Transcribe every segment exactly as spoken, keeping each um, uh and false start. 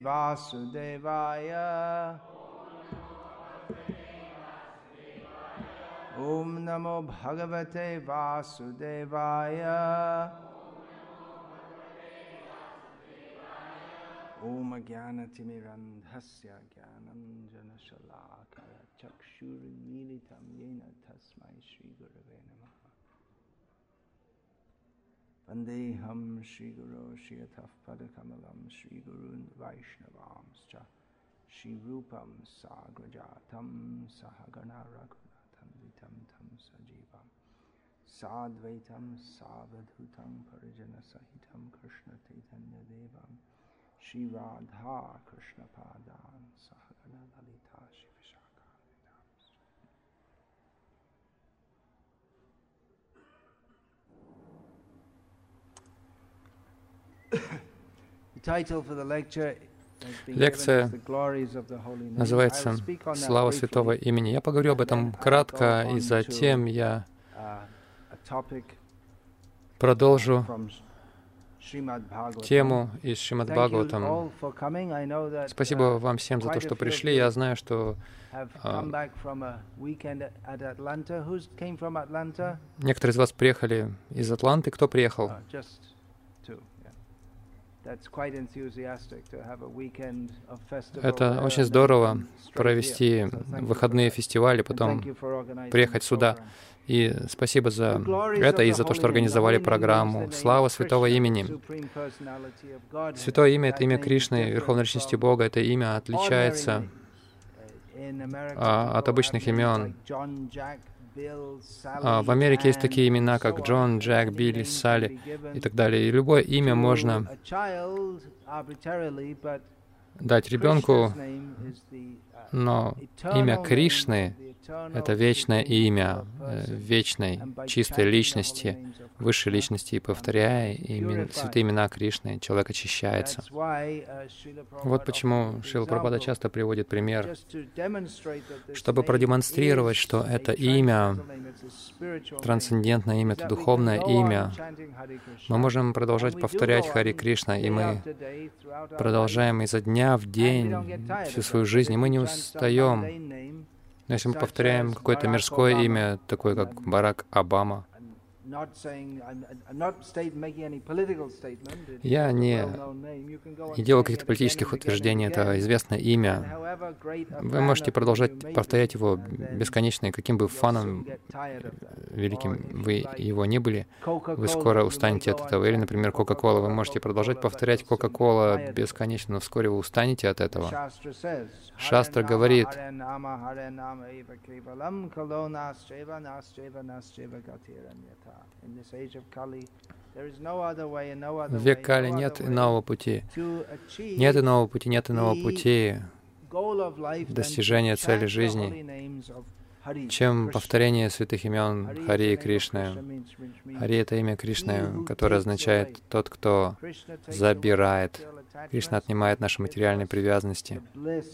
Vasudevaya. Om Namo Bhagavate Vasudevaya. Om Jnanatimirandhasya Jnananjana Shalakaya Chakshurmilitam Yena Tasmai Shri Gurave Namaha. Vandeham Shri Guru Shri Ataf Padakamalam Shri Gurun Vaishnavamscha Shri Rupam Sagrajatam Sahagana Raghunatam Vitam Tam Sajivam Sadvaitam Savadhutam Parijana Sahitam Krishna Chaitanya Devam Shri Radha Krishna Padan Sahagana Lalita Shri Vishaka. Лекция называется «Слава Святого Имени». Я поговорю об этом кратко, и затем я продолжу тему из Шримад Бхагаватам. Спасибо вам всем за то, что пришли. Я знаю, что а, некоторые из вас приехали из Атланты. Кто приехал? Это очень здорово провести выходные фестивали, потом приехать сюда. И спасибо за это и за то, что организовали программу. Слава Святого Имени. Святое имя — это имя Кришны, Верховной Личности Бога. Это имя отличается а, от обычных имен. А, в Америке есть такие имена, как Джон, Джек, Билли, Салли и так далее. И любое имя можно дать ребенку, но имя Кришны — это вечное имя вечной, чистой личности, высшей личности. И повторяя имен, святые имена Кришны, человек очищается. Вот почему Шрила Прабхупада часто приводит пример, чтобы продемонстрировать, что это имя, трансцендентное имя, это духовное имя. Мы можем продолжать повторять Хари Кришна, и мы продолжаем изо дня в день всю свою жизнь, и мы не устаем. Но если мы повторяем какое-то мирское имя, такое как Барак Обама, я не, не делаю каких-то политических утверждений, это известное имя. Вы можете продолжать повторять его бесконечно, и каким бы фаном великим вы его не были, вы скоро устанете от этого. Или, например, Кока-Кола. Вы можете продолжать повторять Кока-Кола бесконечно, но вскоре вы устанете от этого. Шастра говорит, в век Кали нет иного пути. Нет иного пути, нет иного пути достижения цели жизни, чем повторение святых имен Хари и Кришны. Хари — это имя Кришны, которое означает «тот, кто забирает». Кришна отнимает наши материальные привязанности,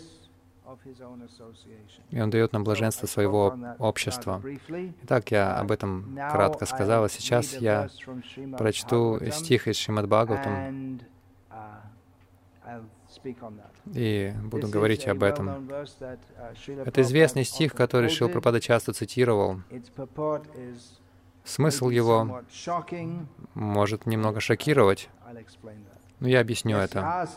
и Он дает нам блаженство своего общества. Итак, я об этом кратко сказал, а сейчас я прочту стих из Шримад Бхагаватам и буду говорить об этом. Это известный стих, который Шрила Прабхупада часто цитировал. Смысл его может немного шокировать, но я объясню это.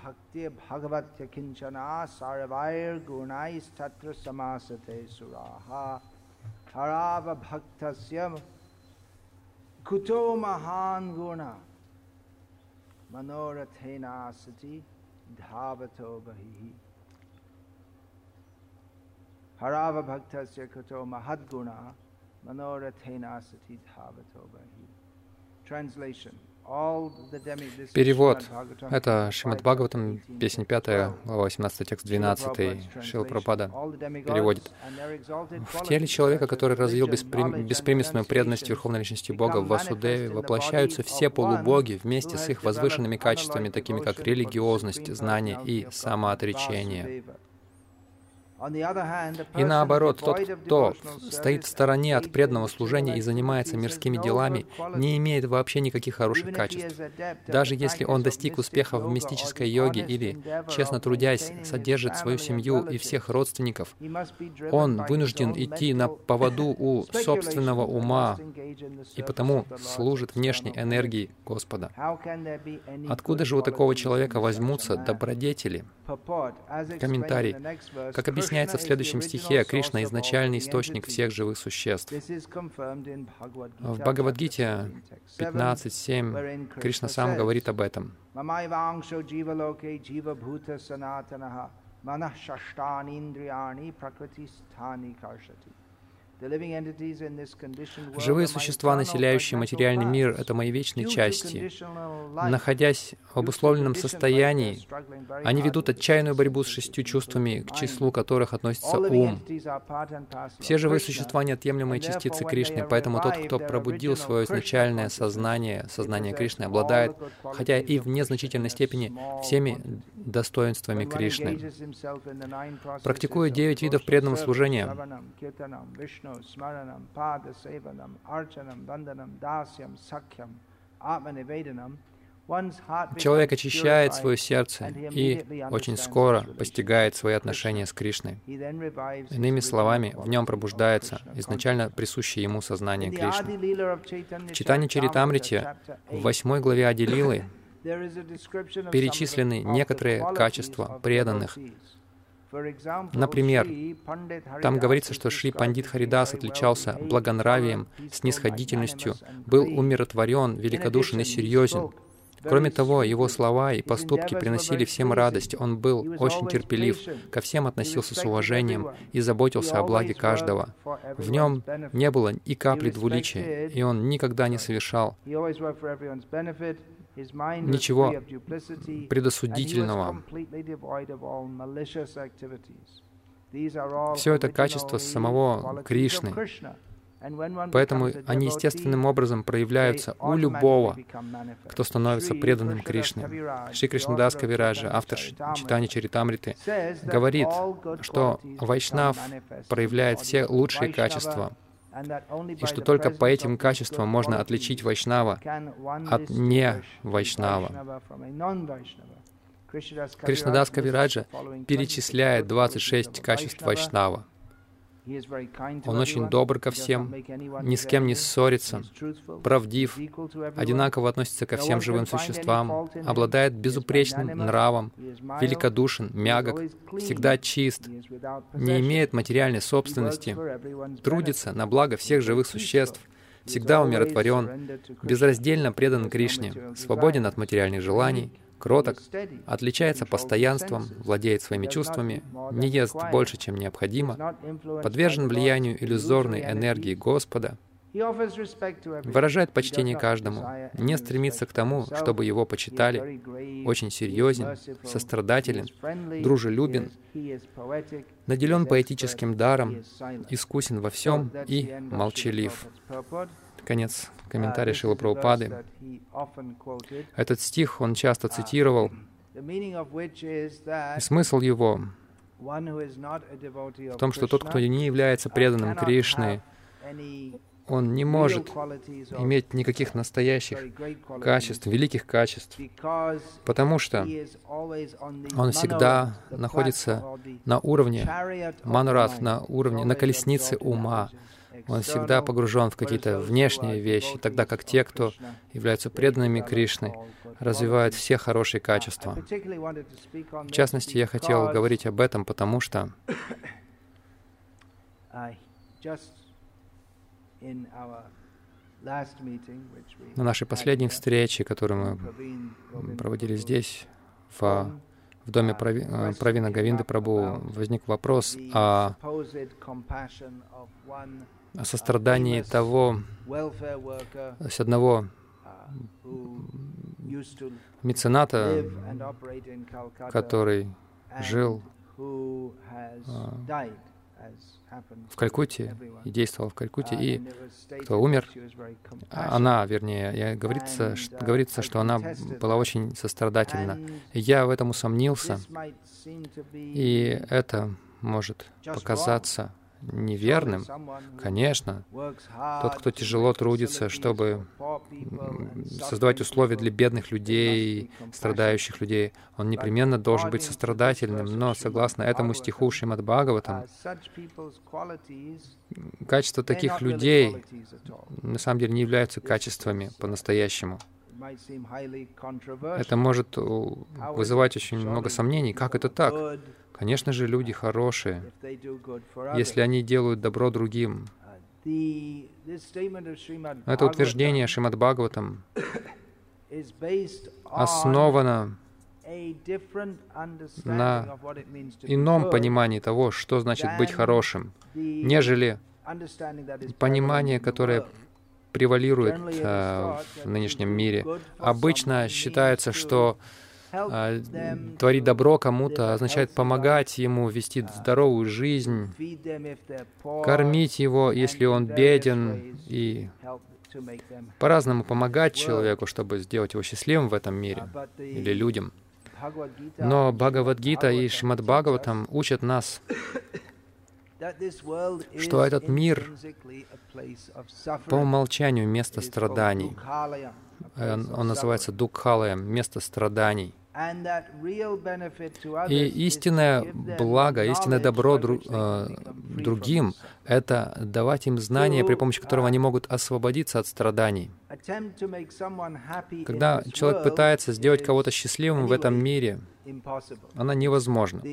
Translation. Перевод. Это Шримад Бхагаватам, песня пятая, глава восемнадцатая, текст двенадцатый. Шрила Прабхупада переводит. В теле человека, который развил беспри... беспримесную преданность Верховной Личности Бога в Васудеве, воплощаются все полубоги вместе с их возвышенными качествами, такими как религиозность, знание и самоотречение. И наоборот, тот, кто стоит в стороне от преданного служения и занимается мирскими делами, не имеет вообще никаких хороших качеств. Даже если он достиг успеха в мистической йоге или, честно трудясь, содержит свою семью и всех родственников, он вынужден идти на поводу у собственного ума и потому служит внешней энергии Господа. Откуда же у такого человека возьмутся добродетели? Комментарий. Как объясняется в следующем стихе, Кришна — изначальный источник всех живых существ. В Бхагавад-гите пятнадцать семь Кришна сам говорит об этом. Живые существа, населяющие материальный мир, — это мои вечные части. Находясь в обусловленном состоянии, они ведут отчаянную борьбу с шестью чувствами, к числу которых относится ум. Все живые существа — неотъемлемые частицы Кришны, поэтому тот, кто пробудил свое изначальное сознание, сознание Кришны, обладает, хотя и в незначительной степени, всеми достоинствами Кришны. Практикуя девять видов преданного служения, Смаранам, Пада Севанам, Арчанам, Ванданам, Дасьям, Сакьям, Атманиведанам, человек очищает свое сердце и очень скоро постигает свои отношения с Кришной. Иными словами, в нем пробуждается изначально присущее ему сознание Кришны. В Чайтанья-чаритамрите, в восьмой главе Ади-лилы, перечислены некоторые качества преданных. Например, там говорится, что Шри Пандит Харидас отличался благонравием, снисходительностью, был умиротворен, великодушен и серьезен. Кроме того, его слова и поступки приносили всем радость. Он был очень терпелив, ко всем относился с уважением и заботился о благе каждого. В нем не было и капли двуличия, и он никогда не совершал ничего предосудительного. Все это качество самого Кришны. Поэтому они естественным образом проявляются у любого, кто становится преданным Кришне. Шри Кришнадас Кавираджа, автор Чайтанья-чаритамриты, говорит, что вайшнав проявляет все лучшие качества, и что только по этим качествам можно отличить вайшнава от не-вайшнава. Кришнадас Кавираджа перечисляет двадцать шесть качеств вайшнава. Он очень добр ко всем, ни с кем не ссорится, правдив, одинаково относится ко всем живым существам, обладает безупречным нравом, великодушен, мягок, всегда чист, не имеет материальной собственности, трудится на благо всех живых существ, всегда умиротворен, безраздельно предан Кришне, свободен от материальных желаний, кроток, отличается постоянством, владеет своими чувствами, не ест больше, чем необходимо, подвержен влиянию иллюзорной энергии Господа, выражает почтение каждому, не стремится к тому, чтобы его почитали, очень серьезен, сострадателен, дружелюбен, наделен поэтическим даром, искусен во всем и молчалив. Конец комментария Шрилы Прабхупады. Этот стих он часто цитировал, и смысл его в том, что тот, кто не является преданным Кришны, он не может иметь никаких настоящих качеств, великих качеств, потому что он всегда находится на уровне манурат, на уровне, на колеснице ума. Он всегда погружен в какие-то внешние вещи, тогда как те, кто являются преданными Кришны, развивают все хорошие качества. В частности, я хотел говорить об этом, потому что на нашей последней встрече, которую мы проводили здесь, в, в доме Прави, Правина Говинды Прабху, возник вопрос о, о сострадании того, с одного мецената, который жил в Калькутте и действовал в Калькутте, и кто умер, она, вернее, я, говорится, что, говорится, что она была очень сострадательна. И я в этом усомнился, и это может показаться неверным. Конечно, тот, кто тяжело трудится, чтобы создавать условия для бедных людей, страдающих людей, он непременно должен быть сострадательным. Но, согласно этому стиху Шримад Бхагаватам, качества таких людей на самом деле не являются качествами по-настоящему. Это может вызывать очень много сомнений. Как это так? Конечно же, люди хорошие, если они делают добро другим. Это утверждение Шримад Бхагаватам основано на ином понимании того, что значит быть хорошим, нежели понимание, которое превалирует э, в нынешнем мире. Обычно считается, что э, творить добро кому-то означает помогать ему вести здоровую жизнь, кормить его, если он беден, и по-разному помогать человеку, чтобы сделать его счастливым в этом мире или людям. Но Бхагавад-гита и Шримад Бхагаватам учат нас, что этот мир по умолчанию место страданий. Он называется Дукхалаем, место страданий. И истинное благо, истинное добро дру, э, другим — это давать им знания, при помощи которого они могут освободиться от страданий. Когда человек пытается сделать кого-то счастливым в этом мире, она невозможна.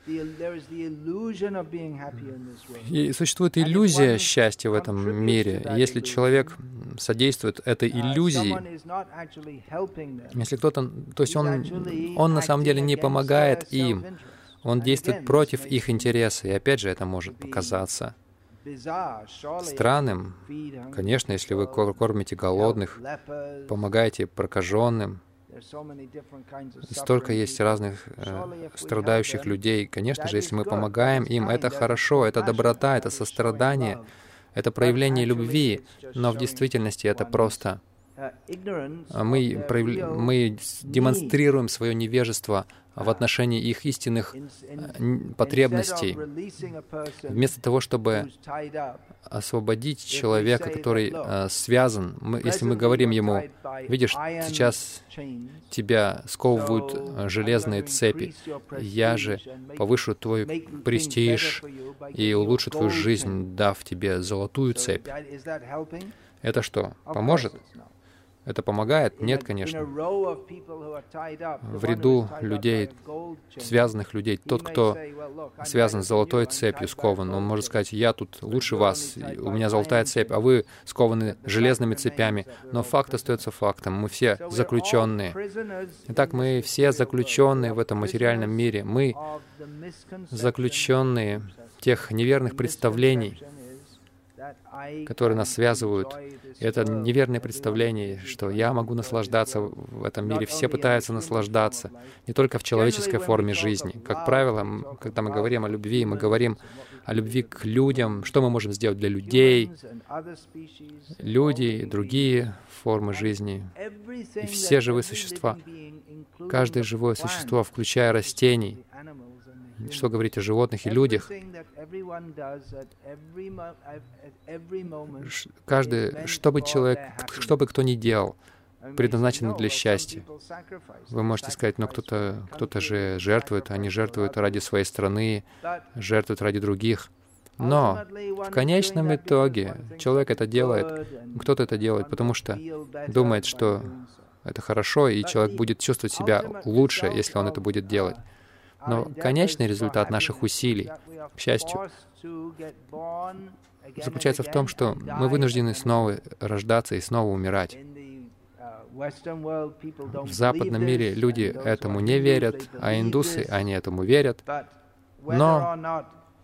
И существует иллюзия счастья в этом мире. Если человек содействует этой иллюзии, если кто-то, то есть он, он на самом деле не помогает им, он действует против их интереса, и опять же это может показаться странным. Конечно, если вы кормите голодных, помогаете прокаженным, столько есть разных э, страдающих людей. Конечно же, если мы помогаем им, это хорошо, это доброта, это сострадание, это проявление любви, но в действительности это просто мы, прояв... мы демонстрируем свое невежество в отношении их истинных потребностей, вместо того, чтобы освободить человека, который э, связан. Мы, если мы говорим ему: «Видишь, сейчас тебя сковывают железные цепи, я же повышу твой престиж и улучшу твою жизнь, дав тебе золотую цепь». Это что, поможет? Это помогает? Нет, конечно. В ряду людей, связанных людей, тот, кто связан с золотой цепью, скован, он может сказать: «Я тут лучше вас, у меня золотая цепь, а вы скованы железными цепями». Но факт остается фактом. Мы все заключенные. Итак, мы все заключенные в этом материальном мире. Мы заключенные тех неверных представлений, которые нас связывают. И это неверное представление, что я могу наслаждаться в этом мире. Все пытаются наслаждаться, не только в человеческой форме жизни. Как правило, когда мы говорим о любви, мы говорим о любви к людям, что мы можем сделать для людей, люди и другие формы жизни. И все живые существа, каждое живое существо, включая растений, что говорить о животных и людях. Каждый, что бы человек, что бы кто ни делал, предназначено для счастья. Вы можете сказать: но кто-то кто-то же жертвует, они жертвуют ради своей страны, жертвуют ради других. Но в конечном итоге человек это делает, кто-то это делает, потому что думает, что это хорошо, и человек будет чувствовать себя лучше, если он это будет делать. Но конечный результат наших усилий, к счастью, заключается в том, что мы вынуждены снова рождаться и снова умирать. В западном мире люди этому не верят, а индусы, они этому верят. Но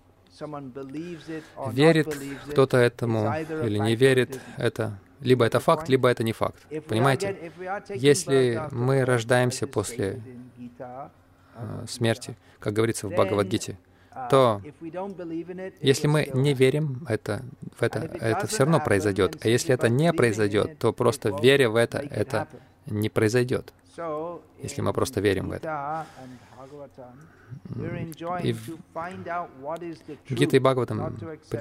верит кто-то этому или не верит, это либо это факт, либо это не факт. Понимаете? Если мы рождаемся после смерти, как говорится в Бхагавад-гите, то если мы не верим это, в это, это все равно произойдет. А если это не произойдет, то просто веря в это, это не произойдет. Если мы просто верим в это. И Гита и Бхагаватам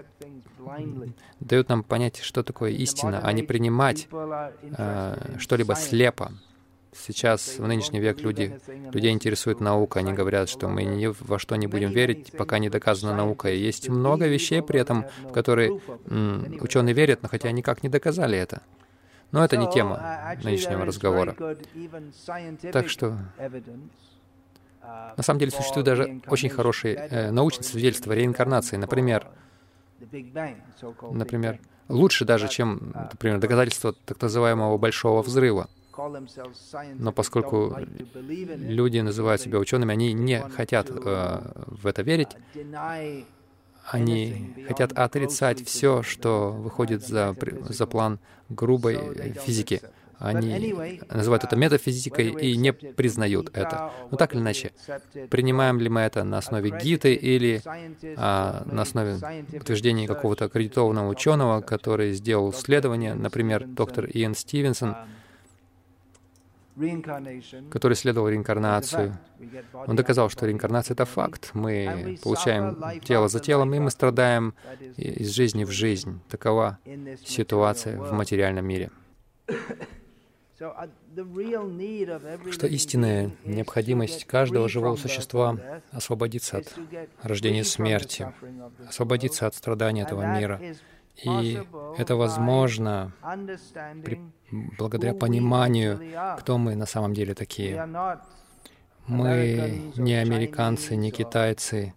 дают нам понять, что такое истина, а не принимать э, что-либо слепо. Сейчас, в нынешний век, люди, людей интересует наука. Они говорят, что мы ни во что не будем верить, пока не доказана наука. И есть много вещей при этом, в которые м, ученые верят, но хотя никак не доказали это. Но это не тема нынешнего разговора. Так что, на самом деле, существует даже очень хорошие э, научные свидетельства реинкарнации. Например, например, лучше даже, чем, например, доказательства так называемого Большого Взрыва. Но поскольку люди называют себя учеными, они не хотят э, в это верить, они хотят отрицать все, что выходит за, за план грубой физики. Они называют это метафизикой и не признают это. Но так или иначе, принимаем ли мы это на основе Гиты или а, на основе утверждений какого-то аккредитованного ученого, который сделал исследование, например, доктор Иэн Стивенсон, который исследовал реинкарнацию. Он доказал, что реинкарнация — это факт. Мы получаем тело за телом, и мы страдаем из жизни в жизнь. Такова ситуация в материальном мире. Что истинная необходимость каждого живого существа — освободиться от рождения и смерти, освободиться от страданий этого мира. И это возможно при, благодаря пониманию, кто мы на самом деле такие. Мы не американцы, не китайцы,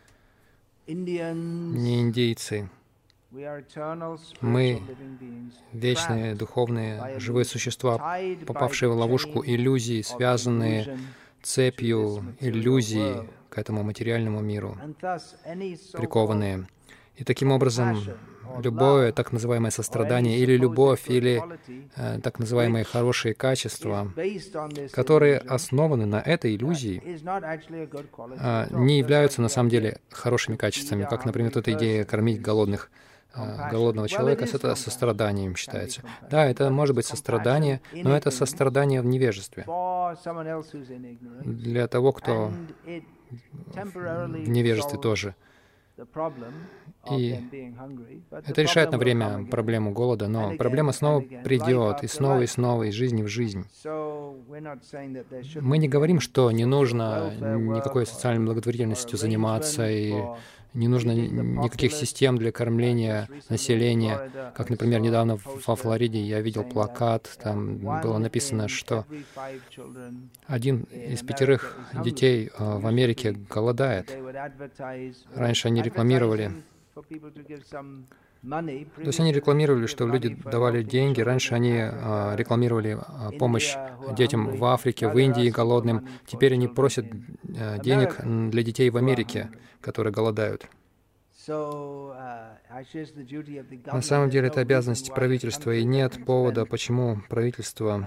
не индейцы. Мы вечные, духовные, живые существа, попавшие в ловушку иллюзий, связанные цепью иллюзий к этому материальному миру, прикованные. И таким образом, любое так называемое сострадание или любовь, или э, так называемые хорошие качества, которые основаны на этой иллюзии, э, не являются на самом деле хорошими качествами, как, например, эта идея кормить голодных, э, голодного человека, это состраданием считается. Да, это может быть сострадание, но это сострадание в невежестве. Для того, кто в невежестве тоже. И это решает на время проблему голода, но проблема снова придет, и снова, и снова, из жизни в жизнь. Мы не говорим, что не нужно никакой социальной благотворительностью заниматься, и не нужно никаких систем для кормления населения. Как, например, недавно во Флориде я видел плакат, там было написано, что один из пятерых детей в Америке голодает. Раньше они рекламировали, то есть они рекламировали, что люди давали деньги. Раньше они а, рекламировали а, помощь детям в Африке, в Индии голодным. Теперь они просят а, денег для детей в Америке, которые голодают. На самом деле это обязанность правительства, и нет повода, почему правительство...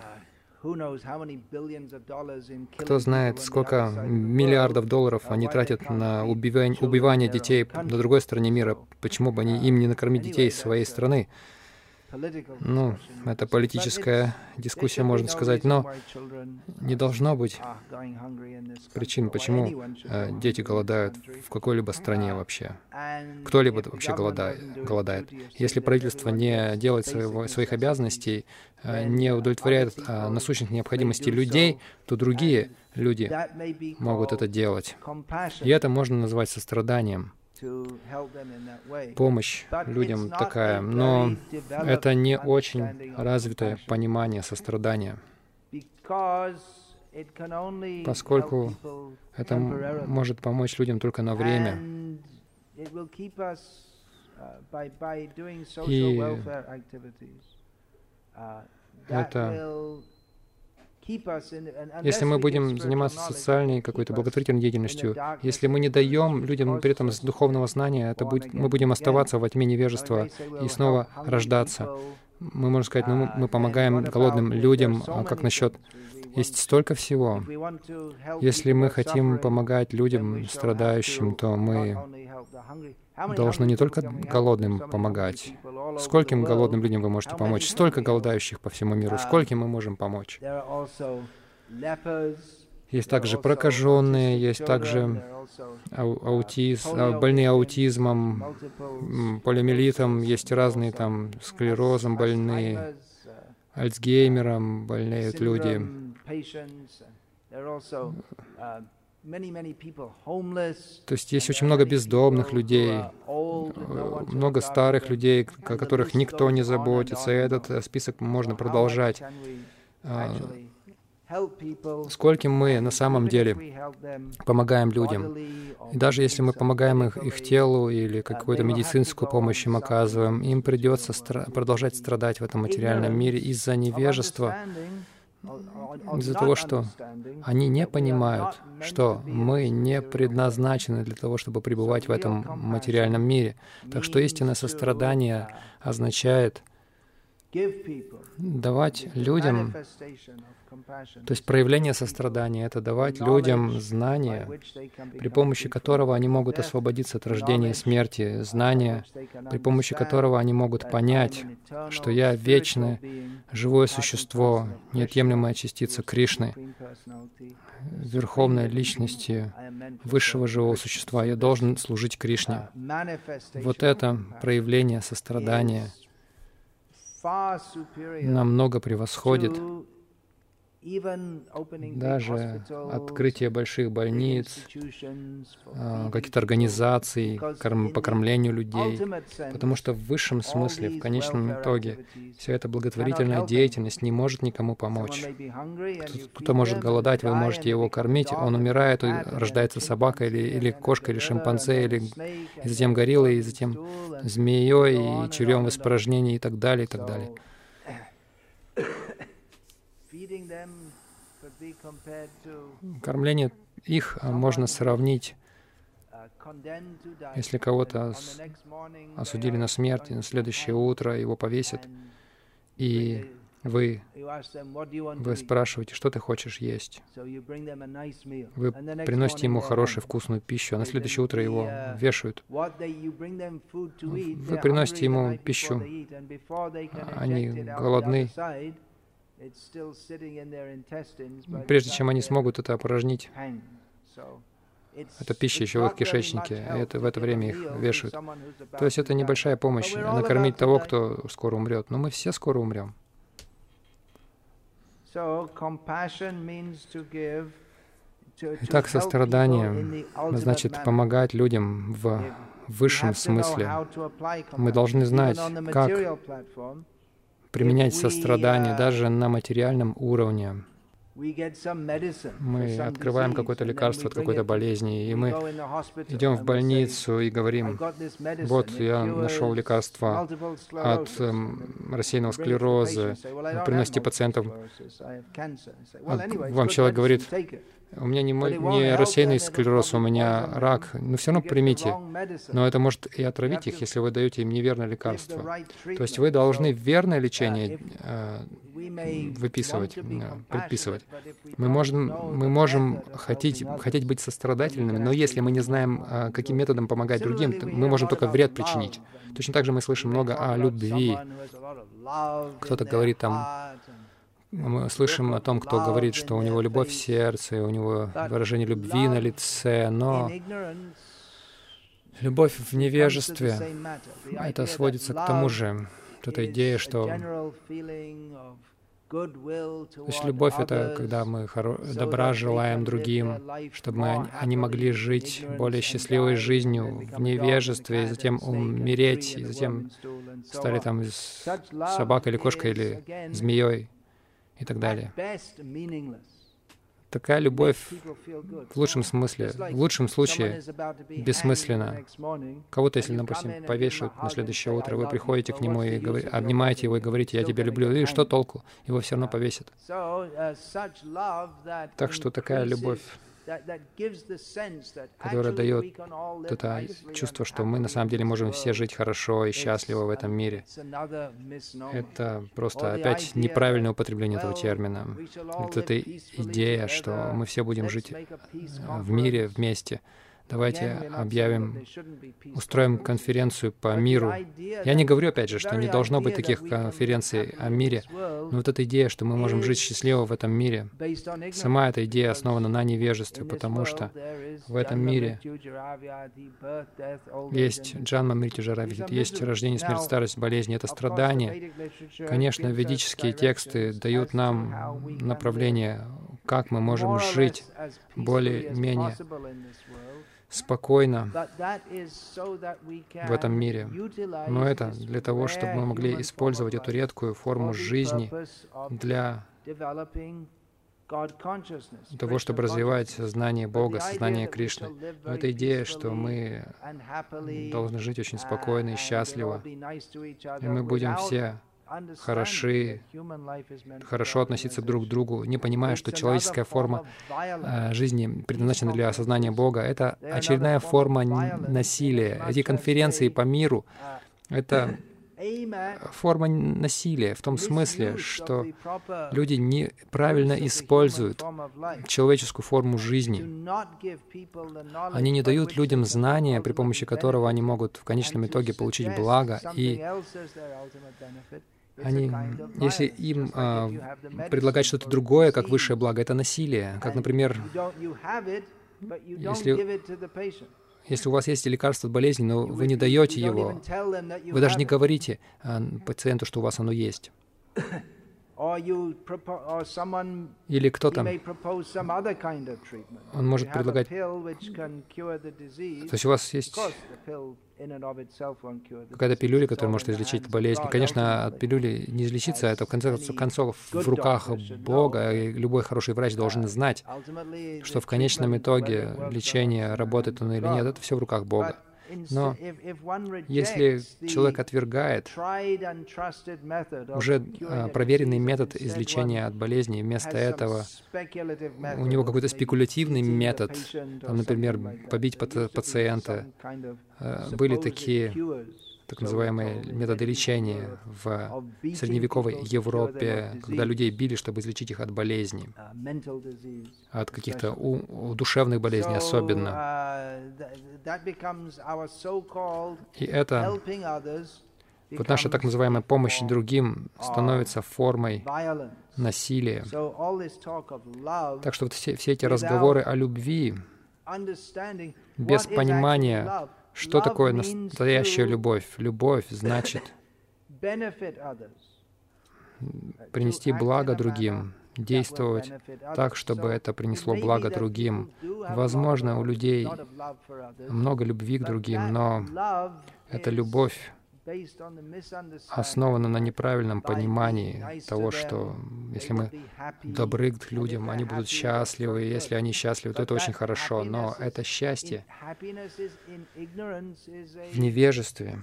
Кто знает, сколько миллиардов долларов они тратят на убивание, убивание детей на другой стороне мира. Почему бы они, им не накормить детей своей страны? Ну, это политическая дискуссия, можно сказать, но не должно быть причин, почему э, дети голодают в какой-либо стране вообще. Кто-либо вообще голодает. голодает. Если правительство не делает своего, своих обязанностей, э, не удовлетворяет э, насущных необходимостей людей, то другие люди могут это делать. И это можно назвать состраданием. Помощь людям такая, но это не очень развитое понимание сострадания, поскольку это может помочь людям только на время. И это... Если мы будем заниматься социальной какой-то благотворительной деятельностью, если мы не даем людям при этом духовного знания, это будет, мы будем оставаться во тьме невежества и снова рождаться. Мы можем сказать, ну, мы помогаем голодным людям, а как насчет... Есть столько всего. Если мы хотим помогать людям страдающим, то мы должны не только голодным помогать. Скольким голодным людям вы можете помочь? Столько голодающих по всему миру. Скольким мы можем помочь? Есть также прокаженные, есть также ау аутиз, больные аутизмом, полиомиелитом, есть разные там склерозом больные, Альцгеймером болеют люди. То есть есть очень много бездомных людей, много старых людей, о которых никто не заботится. И этот список можно продолжать. Скольким мы на самом деле помогаем людям. И даже если мы помогаем их, их телу или какую-то медицинскую помощь им оказываем, им придется стра- продолжать страдать в этом материальном мире из-за невежества, из-за того, что они не понимают, что мы не предназначены для того, чтобы пребывать в этом материальном мире. Так что истинное сострадание означает давать людям, то есть проявление сострадания — это давать людям знания, при помощи которого они могут освободиться от рождения и смерти, знания, при помощи которого они могут понять, что я вечное, живое существо, неотъемлемая частица Кришны, верховной личности высшего живого существа. Я должен служить Кришне. Вот это проявление сострадания намного превосходит даже открытие больших больниц, каких-то организаций по кормлению людей, потому что в высшем смысле, в конечном итоге, вся эта благотворительная деятельность не может никому помочь. Кто-то может голодать, вы можете его кормить, он умирает, рождается собака или, или кошка, или шимпанзе, или и затем гориллой, и затем змеей, и червем в испражнении, и так далее, и так далее. Кормление их можно сравнить, если кого-то осудили на смерть, и на следующее утро его повесят, и вы, вы спрашиваете, что ты хочешь есть. Вы приносите ему хорошую, вкусную пищу, а на следующее утро его вешают. Вы приносите ему пищу, они голодны. Прежде чем они смогут это опорожнить, эта пища еще в их кишечнике, и это, в это время их вешают. То есть это небольшая помощь накормить того, кто скоро умрет. Но мы все скоро умрем. Итак, сострадание значит помогать людям в высшем смысле. Мы должны знать, как применять сострадание даже на материальном уровне. Мы открываем какое-то лекарство от какой-то болезни, и мы идем в больницу и говорим: вот, я нашел лекарство от эм, рассеянного склероза, приносите пациентам. А вам человек говорит: у меня не, не рассеянный склероз, у меня рак. Но все равно примите. Но это может и отравить их, если вы даете им неверное лекарство. То есть вы должны верное лечение э, выписывать, э, предписывать. Мы можем, мы можем хотеть, хотеть быть сострадательными, но если мы не знаем, э, каким методом помогать другим, то мы можем только вред причинить. Точно так же мы слышим много о любви. Кто-то говорит там... Мы слышим о том, кто говорит, что у него любовь в сердце, у него выражение любви на лице, но любовь в невежестве, это сводится к тому же, к этой идее, что... То есть любовь — это когда мы добра желаем другим, чтобы они могли жить более счастливой жизнью в невежестве, и затем умереть, и затем стали там собакой или кошкой или змеей и так далее. Такая любовь в лучшем смысле, в лучшем случае бессмысленна. Кого-то, если, допустим, повешают на следующее утро, вы приходите к нему и говорите, обнимаете его и говорите: «Я тебя люблю», и что толку? Его все равно повесят. Так что такая любовь, которая дает это чувство, что мы на самом деле можем все жить хорошо и счастливо в этом мире. Это просто опять неправильное употребление этого термина. Вот эта идея, что мы все будем жить в мире вместе. давайте объявим, устроим конференцию по миру. Я не говорю, опять же, что не должно быть таких конференций о мире, но вот эта идея, что мы можем жить счастливо в этом мире, сама эта идея основана на невежестве, потому что в этом мире есть Джанма, Мритью, Джара, Видит, есть рождение, смерть, старость, болезни, это страдания. Конечно, ведические тексты дают нам направление, как мы можем жить более-менее спокойно в этом мире. Но это для того, чтобы мы могли использовать эту редкую форму жизни для того, чтобы развивать сознание Бога, сознание Кришны. Но эта идея, что мы должны жить очень спокойно и счастливо, и мы будем все хороши, хорошо относиться друг к другу, не понимая, что человеческая форма э, жизни предназначена для осознания Бога. Это очередная форма насилия. Эти конференции по миру — это форма насилия в том смысле, что люди неправильно используют человеческую форму жизни. Они не дают людям знания, при помощи которого они могут в конечном итоге получить благо, и они, если им а, предлагать что-то другое, как высшее благо, это насилие. Как, например, если, если у вас есть лекарство от болезни, но вы не даете его, вы даже не говорите а, пациенту, что у вас оно есть. Или кто-то, он может предлагать, то есть у вас есть какая-то пилюля, которая может излечить болезнь. Конечно, от пилюли не излечиться, это в конце концов в руках Бога, и любой хороший врач должен знать, что в конечном итоге лечение, работает оно или нет, это все в руках Бога. Но если человек отвергает уже а, проверенный метод излечения от болезни, вместо этого у него какой-то спекулятивный метод, там, например, побить пациента, а, были такие так называемые методы лечения в средневековой Европе, когда людей били, чтобы излечить их от болезней, от каких-то у, душевных болезней особенно. И это, вот наша так называемая помощь другим становится формой насилия. Так что вот все, все эти разговоры о любви без понимания, что такое настоящая любовь? Любовь значит принести благо другим, действовать так, чтобы это принесло благо другим. Возможно, у людей много любви к другим, но эта любовь основана на неправильном понимании того, что если мы добры к людям, они будут счастливы, и если они счастливы, то это очень хорошо. Но это счастье в невежестве.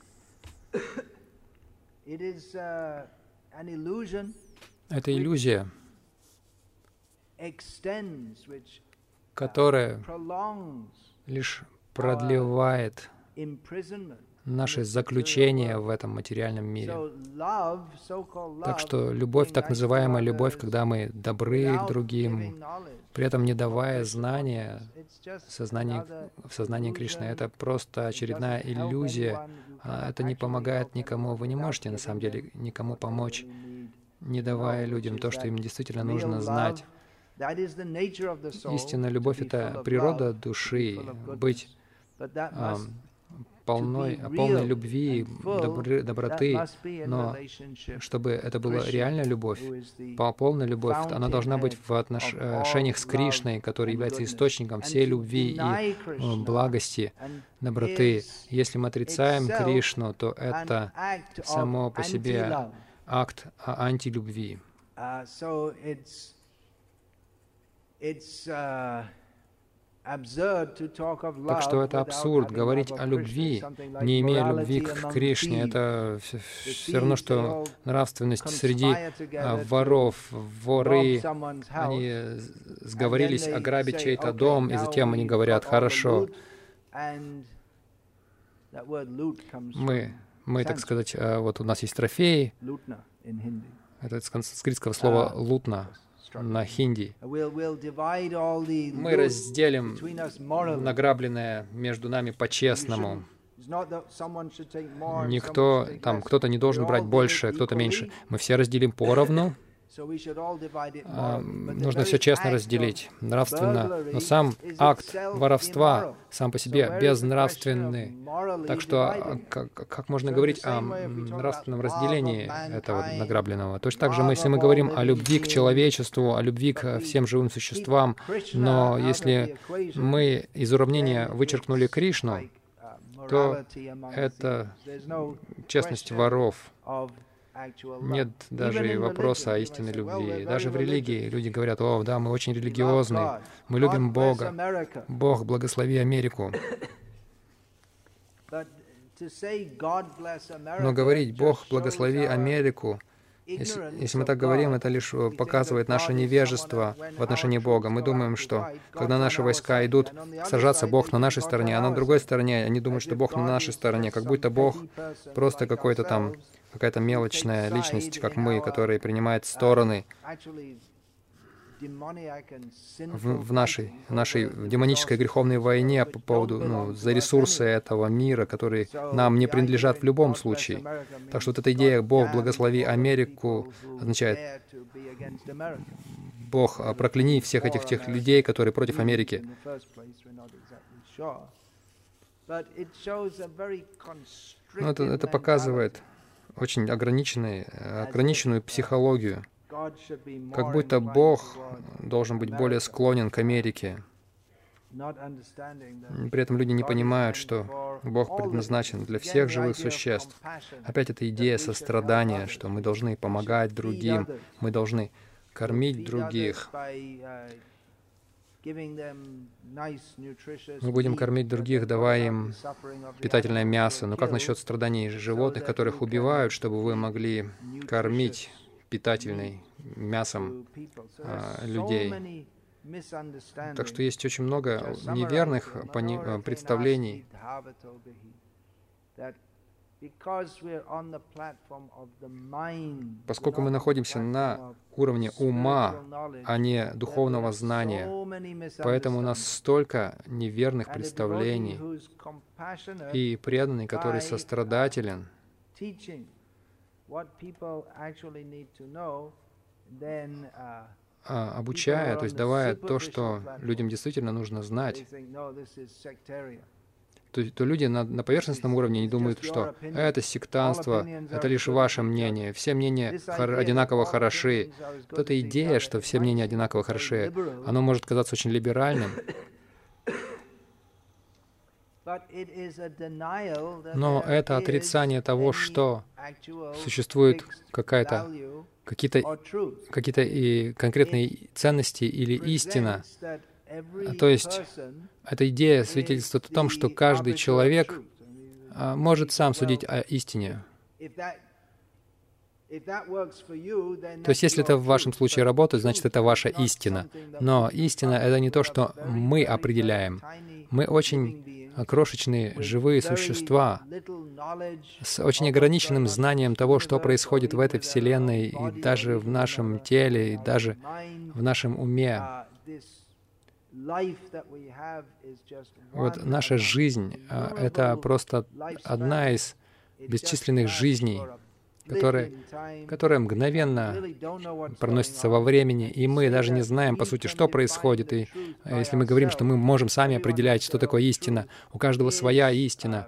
Это иллюзия, которая лишь продлевает наше заключение в этом материальном мире. Так что любовь, так называемая любовь, когда мы добры к другим, при этом не давая знания в сознании, в сознании Кришны, это просто очередная иллюзия. Это не помогает никому. Вы не можете, на самом деле, никому помочь, не давая людям то, что им действительно нужно знать. Истинная любовь — это природа души, быть а, полной, полной любви, добры, доброты, но чтобы это была реальная любовь, полная любовь, она должна быть в отношениях с Кришной, который является источником всей любви и благости, доброты. Если мы отрицаем Кришну, то это само по себе акт антилюбви. Так что это абсурд, говорить о любви, не имея любви к Кришне. Это все равно, что нравственность среди воров. Воры, они сговорились ограбить чей-то дом, и затем они говорят: «Хорошо, мы, мы, так сказать, вот у нас есть трофеи». Это с санскритского слова «лутна». на хинди. Мы разделим награбленное между нами по-честному. Никто, там, кто-то не должен брать больше, кто-то меньше. Мы все разделим поровну. А, нужно все честно разделить, нравственно. Но сам акт воровства сам по себе безнравственный. Так что как, как можно говорить о нравственном разделении этого награбленного? Точно так же, мы, если мы говорим о любви к человечеству, о любви к всем живым существам, но если мы из уравнения вычеркнули Кришну, то это честность воров. Нет даже и вопроса о истинной любви. Даже в религии люди говорят: «О, да, мы очень религиозны, мы любим Бога. Бог, благослови Америку». Но говорить «Бог, благослови Америку», если, если мы так говорим, это лишь показывает наше невежество в отношении Бога. Мы думаем, что когда наши войска идут сражаться, Бог на нашей стороне, а на другой стороне они думают, что Бог на нашей стороне, как будто Бог просто какой-то там, какая-то мелочная личность, как мы, которая принимает стороны в, в нашей, в нашей демонической греховной войне по поводу, ну, за ресурсы этого мира, которые нам не принадлежат в любом случае. Так что вот эта идея «Бог, благослови Америку» означает «Бог, прокляни всех этих тех людей, которые против Америки». Но это, это показывает очень ограниченную, ограниченную психологию. Как будто Бог должен быть более склонен к Америке. При этом люди не понимают, что Бог предназначен для всех живых существ. Опять эта идея сострадания, что мы должны помогать другим, мы должны кормить других. Мы будем кормить других, давая им питательное мясо. Но как насчет страданий животных, которых убивают, чтобы вы могли кормить питательным мясом а, людей? Так что есть очень много неверных пони- представлений. Поскольку мы находимся на уровне ума, а не духовного знания, поэтому у нас столько неверных представлений. И преданный, который сострадателен, обучая, то есть давая то, что людям действительно нужно знать, то, то люди на, на поверхностном уровне не думают, что это сектантство, это лишь ваше мнение, все мнения хор- одинаково хороши. Вот эта идея, что все мнения одинаково хороши, оно может казаться очень либеральным, но это отрицание того, что существует какая-то, какие-то, какие-то и конкретные ценности или истина. То есть эта идея свидетельствует о том, что каждый человек а, может сам судить о истине. То есть если это в вашем случае работает, значит, это ваша истина. Но истина — это не то, что мы определяем. Мы очень крошечные живые существа с очень ограниченным знанием того, что происходит в этой Вселенной, и даже в нашем теле, и даже в нашем уме. Вот наша жизнь — это просто одна из бесчисленных жизней, которая, которая мгновенно проносится во времени, и мы даже не знаем, по сути, что происходит. И если мы говорим, что мы можем сами определять, что такое истина, у каждого своя истина,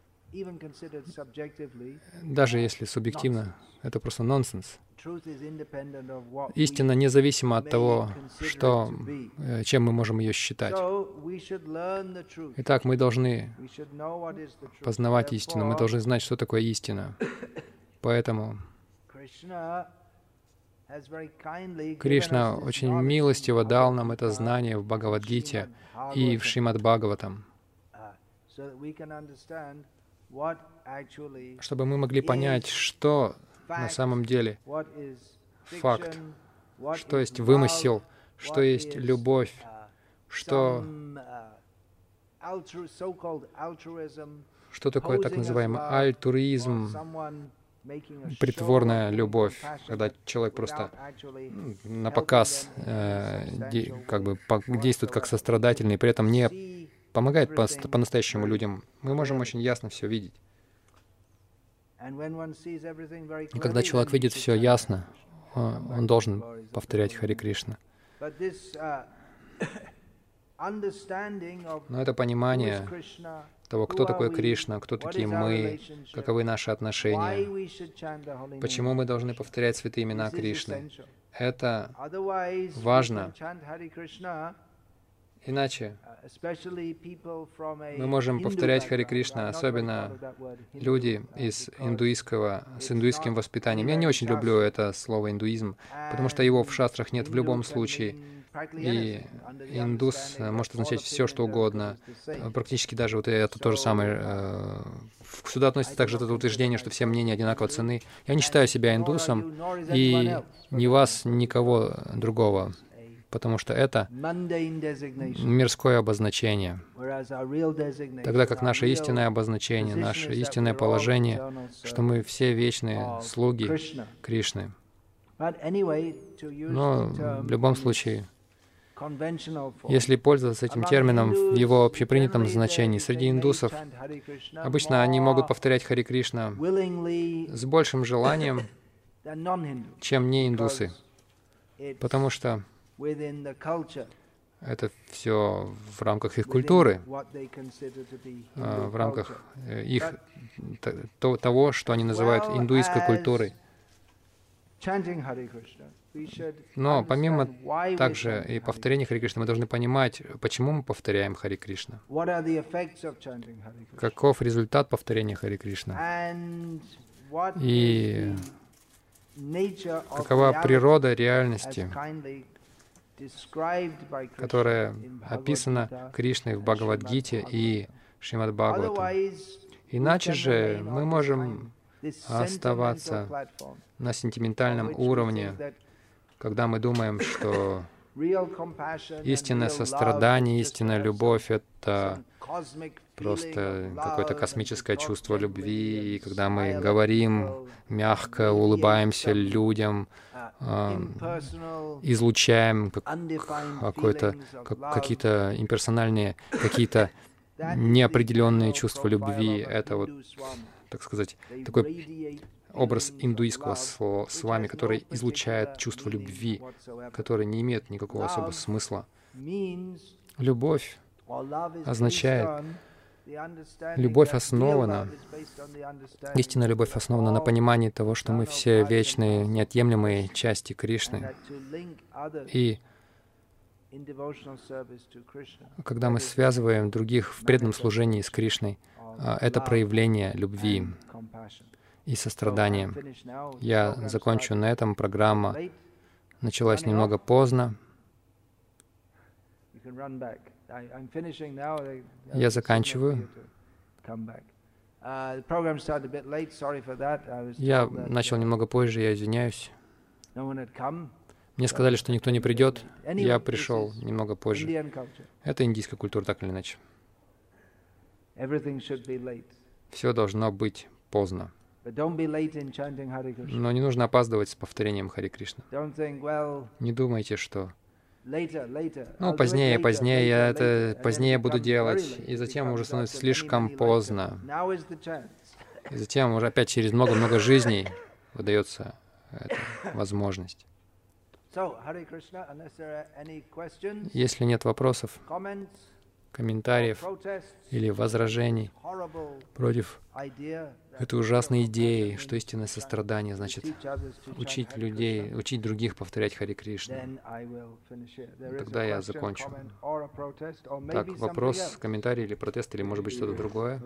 даже если субъективно, это просто нонсенс. Истина независима от того, что, чем мы можем ее считать. Итак, мы должны познавать истину, мы должны знать, что такое истина. Поэтому Кришна очень милостиво дал нам это знание в Бхагавад-гите и в Шримад-Бхагаватам, чтобы мы могли понять, что на самом деле факт, что есть вымысел, что есть любовь, что, что такое так называемый альтруизм, притворная любовь, когда человек просто на показ э, де, как бы по, действует как сострадательный, при этом не помогает по- по-настоящему людям. Мы можем очень ясно все видеть. И когда человек видит все ясно, он должен повторять Харе Кришна. Но это понимание того, кто такой Кришна, кто такие мы, каковы наши отношения, почему мы должны повторять святые имена Кришны. Это важно. Иначе мы можем повторять Харе Кришна, особенно люди из индуистского, с индуистским воспитанием. Я не очень люблю это слово «индуизм», потому что его в шастрах нет в любом случае. И индус может означать все, что угодно. Практически даже вот это то же самое. Сюда относится также это утверждение, что все мнения одинаково ценны. Я не считаю себя индусом, и ни вас, никого другого, потому что это мирское обозначение. Тогда как наше истинное обозначение, наше истинное положение, что мы все вечные слуги Кришны. Но в любом случае, если пользоваться этим термином в его общепринятом значении, среди индусов обычно они могут повторять Харе Кришна с большим желанием, чем не индусы, потому что это все в рамках их культуры, в рамках их того, что они называют индуистской культурой. Но помимо также и повторения Харе Кришны, мы должны понимать, почему мы повторяем Харе Кришна. Каков результат повторения Харе Кришна? И какова природа реальности, которая описана Кришной в Бхагавад-гите и Шримад Бхагаватам. Иначе же мы можем оставаться на сентиментальном уровне, когда мы думаем, что истинное сострадание, истинная любовь — это просто какое-то космическое чувство любви, и когда мы говорим мягко, улыбаемся людям, излучаем какое-то, какие-то имперсональные, какие-то неопределенные чувства любви. Это вот, так сказать, такой образ индуистского с вами, который излучает чувство любви, который не имеет никакого особого смысла. Любовь означает, любовь основана, истинная любовь основана на понимании того, что мы все вечные, неотъемлемые части Кришны. И когда мы связываем других в преданном служении с Кришной, это проявление любви и сострадания. Я закончу на этом. Программа началась немного поздно. Я заканчиваю. Я начал немного позже, я извиняюсь. Мне сказали, что никто не придет. Я пришел немного позже. Это индийская культура, так или иначе. Все должно быть поздно. Но не нужно опаздывать с повторением Харе Кришна. Не думайте, что ну, позднее, позднее, я это позднее буду делать, и затем уже становится слишком поздно. И затем уже опять через много-много жизней выдается эта возможность. Если нет вопросов, комментариев или возражений против этой ужасной идеи, что истинное сострадание значит учить людей, учить других повторять Харе Кришну, тогда я закончу. Так, вопрос, комментарий или протест, или может быть что-то другое?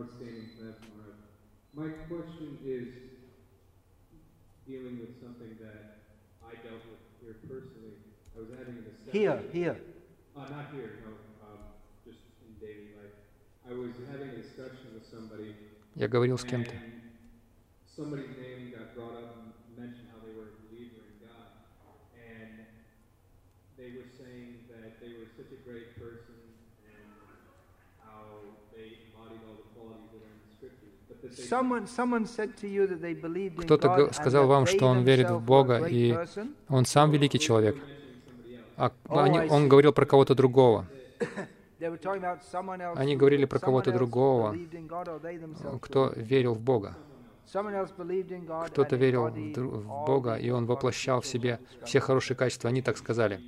Here, here. Uh, not here, no, um, just in daily life. I was having a discussion with somebody. Я говорил с кем-то. Somebody's name got brought up and mentioned how they were a believer in God, and they were saying that they were such a great person and how they embodied all the qualities that are in the scriptures. But the Кто-то сказал вам, что он верит в Бога, и он сам великий человек. А они, он говорил про кого-то другого. Они говорили про кого-то другого, кто верил в Бога. Кто-то верил в, в Бога, и он воплощал в себе все хорошие качества. Они так сказали.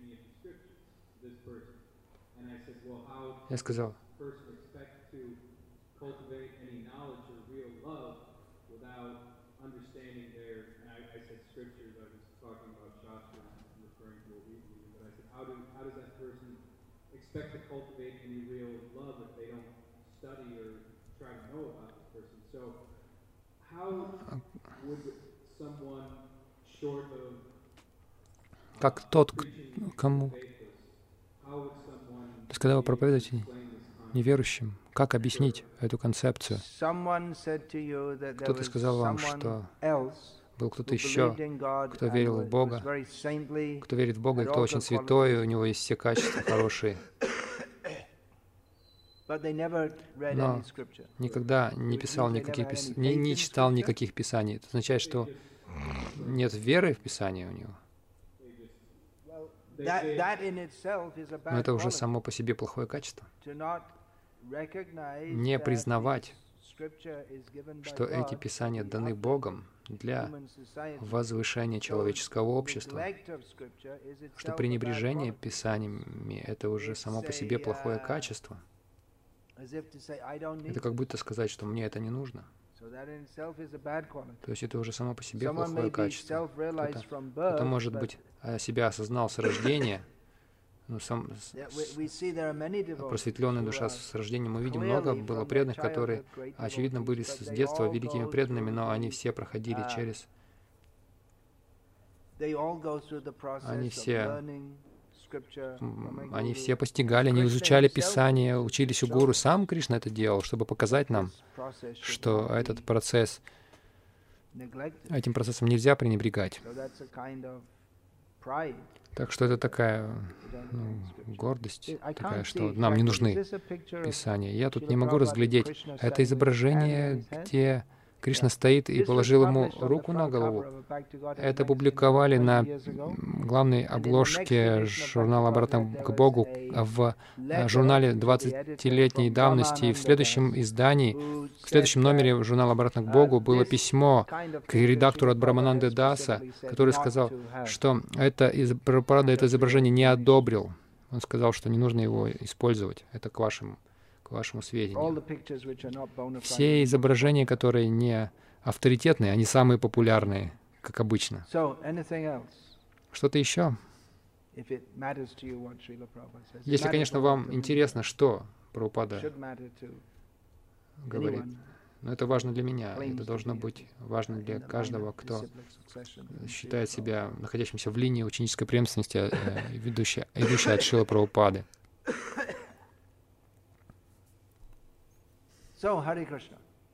Я сказал, как тот, кому... То есть, когда вы проповедуете неверующим, как объяснить эту концепцию? Кто-то сказал вам, что был кто-то еще, кто верил в Бога, кто верит в Бога, и кто очень святой, и у него есть все качества хорошие. Но никогда не писал никаких пис... не, не читал никаких писаний. Это означает, что нет веры в Писании у него. Но это уже само по себе плохое качество. Не признавать, что эти писания даны Богом для возвышения человеческого общества, что пренебрежение писаниями — это уже само по себе плохое качество. Это как будто сказать, что мне это не нужно. То есть это уже само по себе плохое качество. Кто-то, кто-то, может быть, себя осознал с рождения, ну, сам, с, просветленная душа с рождения. Мы видим, много было преданных, которые, очевидно, были с детства великими преданными, но они все проходили через... Они все... Они все постигали, они изучали Писание, учились у гуру. Сам Кришна это делал, чтобы показать нам, что этот процесс, этим процессом нельзя пренебрегать. Так что это такая ну, гордость, такая, что нам не нужны Писания. Я тут не могу разглядеть. Это изображение, где Кришна стоит и положил ему руку на голову. Это публиковали на главной обложке журнала «Обратно к Богу» в журнале двадцатилетней давности. И в следующем издании, в следующем номере журнала «Обратно к Богу» было письмо к редактору от Брамананды Даса, который сказал, что это, Прабхупада это изображение не одобрил. Он сказал, что не нужно его использовать. Это к вашему к вашему сведению. Все изображения, которые не авторитетные, они самые популярные, как обычно. Что-то еще? Если, конечно, вам интересно, что Прабхупада говорит, но это важно для меня, это должно быть важно для каждого, кто считает себя находящимся в линии ученической преемственности, идущей от Шрилы Прабхупады. So, Hare Krishna.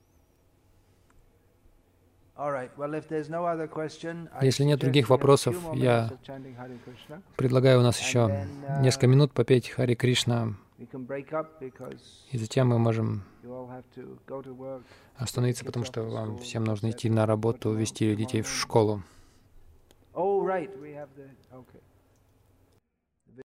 Если нет других вопросов, я предлагаю у нас еще несколько минут попеть Харе Кришна, и затем мы можем остановиться, потому что вам всем нужно идти на работу, вести детей в школу. Oh, right, we have the, okay.